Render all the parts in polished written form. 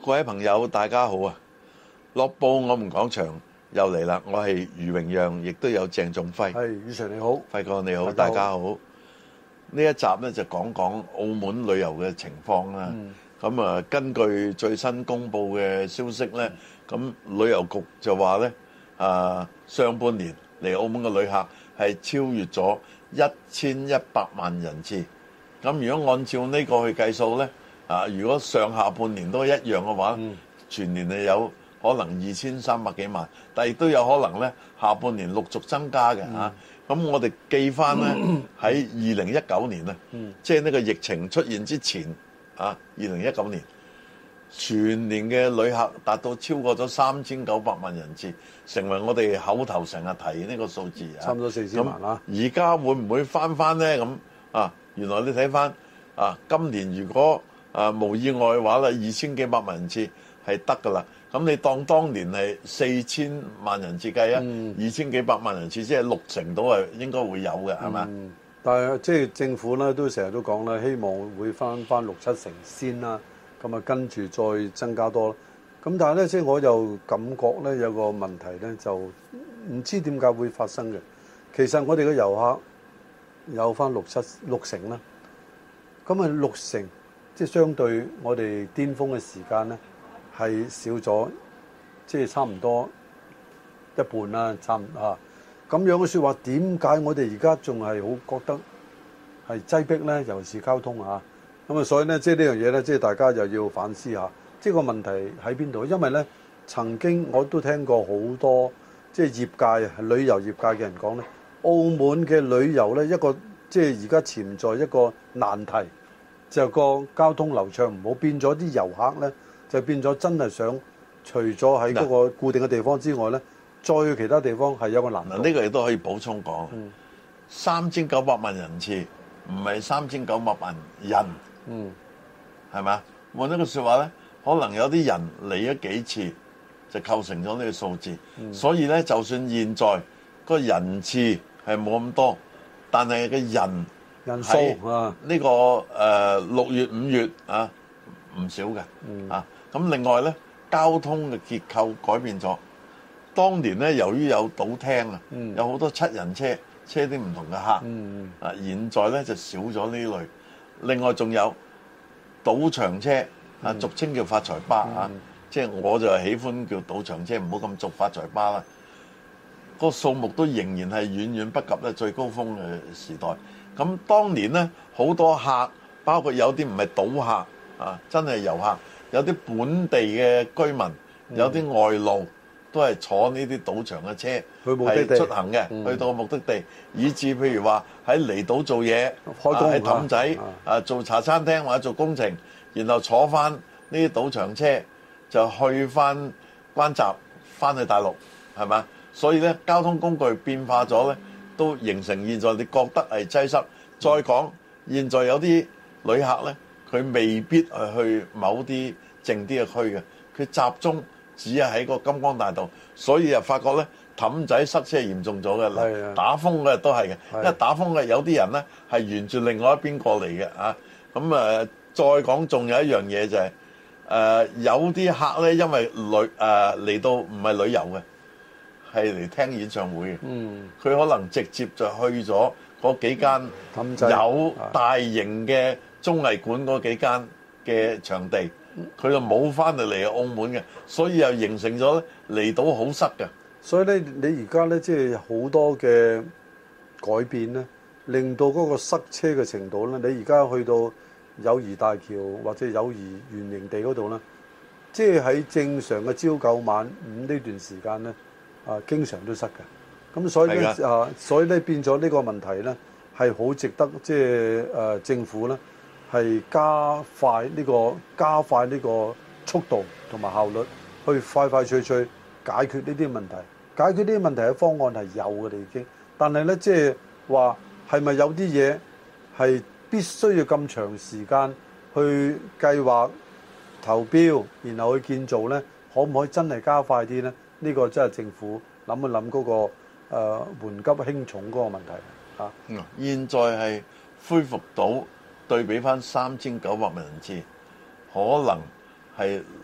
各位朋友，大家好啊！樂報我們講場又嚟啦，我係余榮讓，亦都有鄭仲輝。 係，余 Sir 你好， 輝哥你好，大家好。呢一集咧就講講澳門旅遊嘅情況啦。咁根據最新公布嘅消息咧，咁旅遊局就話咧，上半年嚟澳門嘅旅客係超越咗1100萬人次。咁如果按照呢個去計數咧，如果上下半年都一樣嘅話，全年係有可能2300幾萬，但亦都有可能咧下半年陸續增加嘅嚇。咁我哋記翻咧喺2019年啊，即係呢個疫情出現之前2019年全年嘅旅客達到超過咗3900萬人次，成為我哋口頭成日提呢個數字啊， 差唔多4000萬啦。 而家會唔會翻咧？咁原來你睇翻今年如果無意外嘅話咧，2000幾百萬人次係得㗎啦。咁你當年係4000萬人次計2000幾百萬人次，即係60%到係應該會有嘅，係嘛？ 但係即係政府咧都成日都講啦，希望會翻6-7成先啦。咁跟住再增加多。咁但係咧，即係我又感覺咧有個問題咧，就唔知點解會發生嘅。其實我哋嘅遊客有翻6成啦。咁6成。即係相對我哋巔峰嘅時間咧，係少咗，即係差唔多一半啦，咁樣嘅説話，點解我哋而家仲係好覺得係擠迫咧？尤其是交通咁所以咧，即係呢樣嘢咧，即係大家又要反思下，即係個問題喺邊度？因為咧，曾經我都聽過好多即係業界旅遊業界嘅人講咧，澳門嘅旅遊咧一個即係而家潛在一個難題。就個交通流暢唔好，變咗啲遊客咧，就變咗真係想除咗喺嗰個固定嘅地方之外咧，再去其他地方係有個難度。呢個亦都可以補充講，3900萬人次唔係3900萬人，係咪？換一個説話咧，可能有啲人嚟咗幾次就構成咗呢個數字。所以咧，就算現在個人次係冇咁多，但係個人數呢個6月5月唔少嘅咁另外咧，交通嘅結構改變咗。當年咧，由於有賭廳有好多7人車車啲唔同嘅客現在咧就少咗呢類。另外仲有賭場車俗稱叫發財巴即係我就喜歡叫賭場車，唔好咁俗發財巴啦。個數目都仍然係遠遠不及咧最高峰嘅時代。咁當年咧，好多客，包括有啲唔係賭客真係遊客，有啲本地嘅居民，有啲外勞，都係坐呢啲賭場嘅車係出行嘅，去到目的地，以至譬如話喺離島做嘢，喺氹仔做茶餐廳或者做工程，然後坐翻呢啲賭場車就去翻關閘，翻去大陸，係咪？所以咧，交通工具變化咗咧。都形成現在你覺得係擠塞。再講，現在有啲旅客咧，佢未必去某啲靜啲嘅區嘅，佢集中只係喺個金光大道，所以又發覺咧氹仔塞車嚴重咗嘅啦。打風嘅都係嘅，因為打風嘅有啲人咧係沿住另外一邊過嚟嘅咁再講，仲有一樣嘢就係有啲客咧，因為嚟到唔係旅遊嘅。係嚟聽演唱會嘅，佢可能直接就去咗嗰幾間有大型嘅綜藝館嗰幾間嘅場地，佢就冇翻嚟澳門嘅，所以又形成咗離島好塞嘅。 所以咧，你而家咧即係好多嘅改變咧，令到嗰個塞車嘅程度咧，你而家去到友誼大橋或者友誼圓形地嗰度咧，即係喺正常嘅朝9晚5呢段時間咧。經常都塞嘅，咁所以咧所以咧變咗呢個問題咧，係好值得即係政府咧係加快呢個速度同埋效率，去快快脆脆解決呢啲問題。解決呢啲問題嘅方案係有嘅，已經。但係咧即係話係咪有啲嘢係必須要咁長時間去計劃投標，然後去建造咧？可唔可以真係加快啲咧？呢個真係政府諗一諗嗰個緩急輕重嗰個問題現在係恢復到對比翻3900萬人次，可能係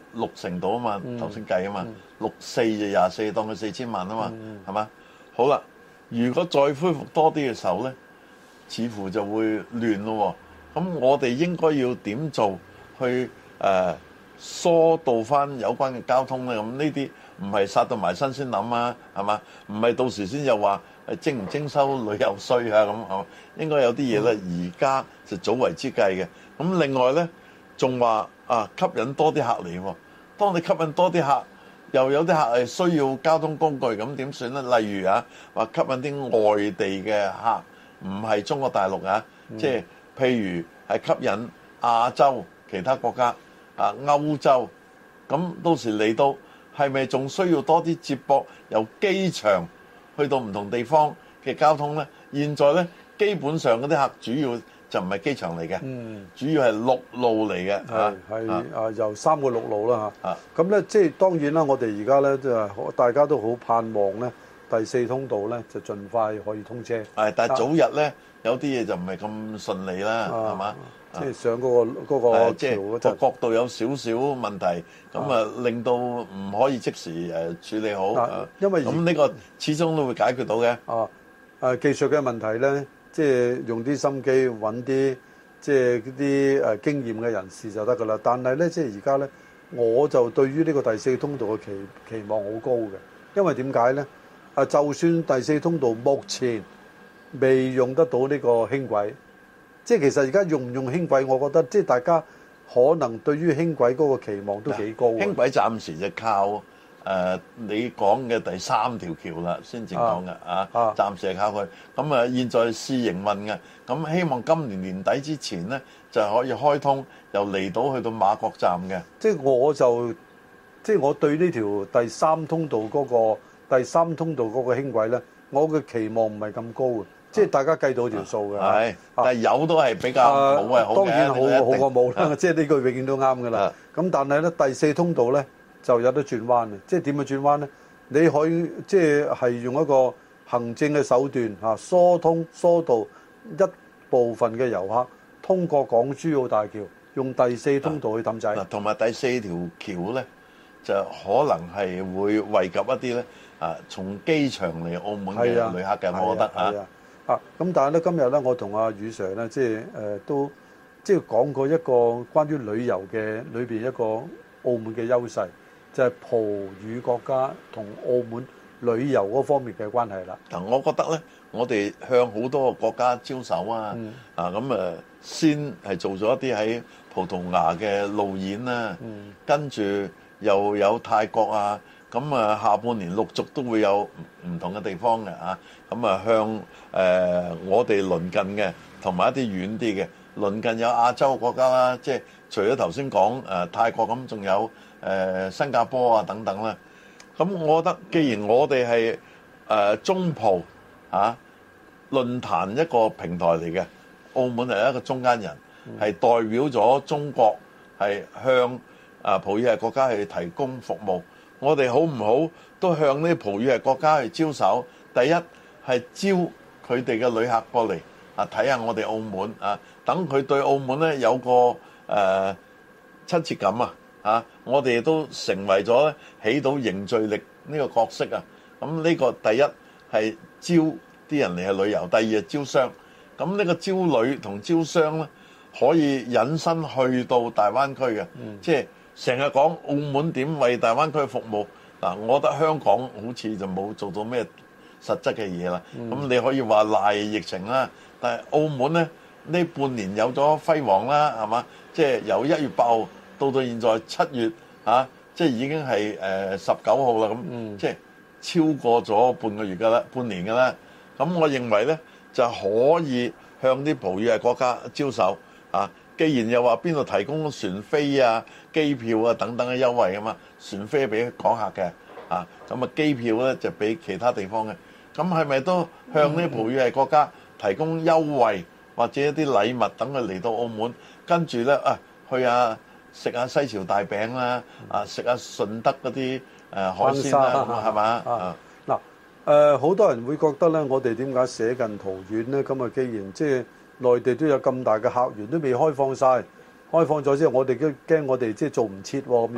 60度啊嘛，頭先計啊嘛，64就24，當佢4000萬啊嘛，係嘛？好啦，如果再恢復多啲嘅時候咧，似乎就會亂咯喎。咁我哋應該要點做去疏導翻有關嘅交通咧？咁呢啲唔係殺到埋身先諗啊，係嘛？唔係到時先又話徵唔徵收旅遊稅啊咁，係嘛？應該有啲嘢咧，而家就早為之計嘅。咁另外咧，仲話吸引多啲客嚟喎。當你吸引多啲客，又有啲客係需要交通工具，咁點算咧？例如話吸引啲外地嘅客，唔係中國大陸即係譬如係吸引亞洲其他國家歐洲，咁到時嚟到係咪仲需要多啲接駁由機場去到唔同地方嘅交通咧？現在咧基本上嗰啲客主要就唔係機場嚟嘅，主要係陸路嚟嘅， 係由3個陸路啦嚇。咁咧即係當然啦，我哋而家咧就大家都好盼望咧第4通道咧就盡快可以通車。 但係早日咧有啲嘢就唔係咁順利啦，係嘛？ 即係上嗰個即係個角度有少少問題，咁令到唔可以即時處理好。 因為咁呢個始終都會解決到嘅。 技術嘅問題咧，即係用啲心機揾啲即係啲經驗嘅人士就得㗎啦。但係咧，即係而家咧，我就對於呢個第4通道嘅期望好高嘅，因為點解咧？就算第4通道目前未用得到呢個輕軌。即係其實而家用唔用輕軌，我覺得即係大家可能對於輕軌嗰個期望都幾高。輕軌暫時就靠你講嘅第3條橋啦，先至講嘅暫時係靠佢。咁現在試營運嘅，咁希望今年年底之前咧就可以開通，由離島去到馬國站嘅。 即係我對呢條第3通道嗰個輕軌咧，我嘅期望唔係咁高嘅。即係大家計到條數嘅， 但係有都係比較冇係好嘅， 當然好過冇啦。即係呢句永遠都啱㗎啦。咁但係咧第4通道咧就有得轉彎嘅。即係點樣轉彎咧？你可以即係用一個行政嘅手段疏導一部分嘅遊客通過港珠澳大橋，用第4通道去氹仔。 同埋第4條橋咧就可能係會惠及一啲咧從機場嚟澳門嘅旅客嘅，我覺得咁但係咧，今日咧，我同阿余 Sir 咧，即係都即係講過一個關於旅遊嘅裏邊一個澳門嘅優勢，就係葡語國家同澳門旅遊嗰方面嘅關係啦。 嗱，我覺得咧，我哋向好多個國家招手咁先係做咗一啲喺葡萄牙嘅路演啦，跟住又有泰國咁下半年陸續都會有唔同嘅地方嘅咁向我哋鄰近嘅同埋一啲遠啲嘅鄰近有亞洲國家啦，即係除咗頭先講泰國咁，仲有新加坡等等啦。咁我覺得既然我哋係中葡論壇一個平台嚟嘅，澳門係一個中間人，係代表咗中國係向葡語系國家去提供服務。我哋好唔好都向呢啲葡語系國家去招手？第一係招佢哋嘅旅客過嚟睇下我哋澳門等佢對澳門咧有個親切感我哋都成為咗咧起到凝聚力呢個角色咁呢個第一係招啲人嚟去旅遊，第二係招商。咁呢個招旅同招商咧可以引申去到大灣區嘅，即係成日講澳門點為大灣區服務我覺得香港好似就冇做到咩實質嘅嘢啦。咁你可以話賴疫情啦，但係澳門咧呢半年有咗輝煌啦，係嘛？即係由1月8號到現在7月即係已經係19號啦，咁即係超過咗半個月㗎啦，半年㗎啦。咁我認為咧就可以向啲葡語系國家招手既然又話邊度提供船飛機票等等嘅優惠㗎嘛，船飛俾港客嘅咁機票咧就俾其他地方嘅。咁係咪都向呢啲葡語系國家提供優惠或者一啲禮物，等佢嚟到澳門，跟住咧去食下西樵大餅啦，食下順德嗰啲海鮮啦，係嘛？ 好多人會覺得咧，我哋點解捨近圖遠咧？咁既然即係內地都有咁大嘅客源，都未開放晒，開放咗之後，我哋都驚我哋即係做唔切喎咁樣。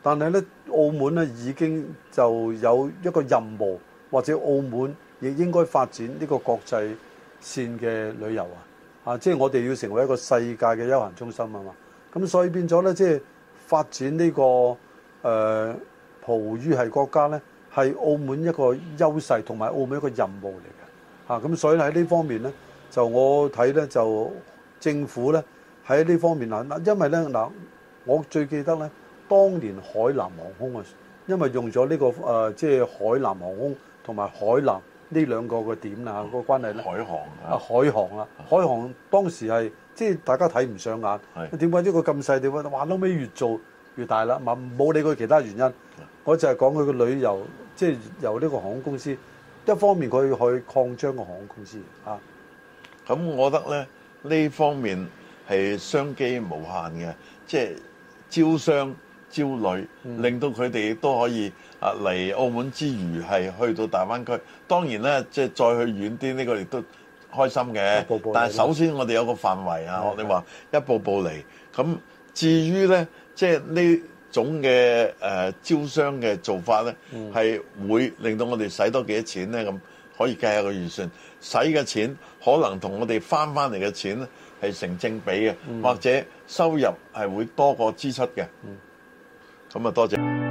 但係咧澳門咧已經就有一個任務，或者澳門亦應該發展呢個國際線嘅旅遊即係我哋要成為一個世界嘅休閒中心啊嘛。咁所以變咗咧，即係發展呢個葡語系國家咧，係澳門一個優勢同埋澳門一個任務嚟嘅咁所以喺呢方面咧，就我睇咧就政府咧喺呢方面因為咧我最記得咧，當年海南航空因為用咗呢個即係海南航空同埋海南呢兩個嘅點啦個關係咧，海航當時係即係大家睇唔上眼，點解呢個咁細地方，話後尾越做越大啦，冇理佢其他原因，我就係講佢個旅遊，即係由呢個航空公司一方面佢去擴張個航空公司咁我覺得咧呢方面係商機無限嘅，即係招商招旅，令到佢哋都可以嚟澳門之餘係去到大灣區。當然咧，即係再去遠啲，呢個亦都開心嘅。但係首先我哋有個範圍學你話一步步嚟。咁至於咧，即係呢種嘅招商嘅做法咧，係會令到我哋使多幾多錢咧？咁可以計下個預算，使嘅錢可能同我哋翻嚟嘅錢咧係成正比嘅，或者收入係會多過支出嘅。咁啊，多謝。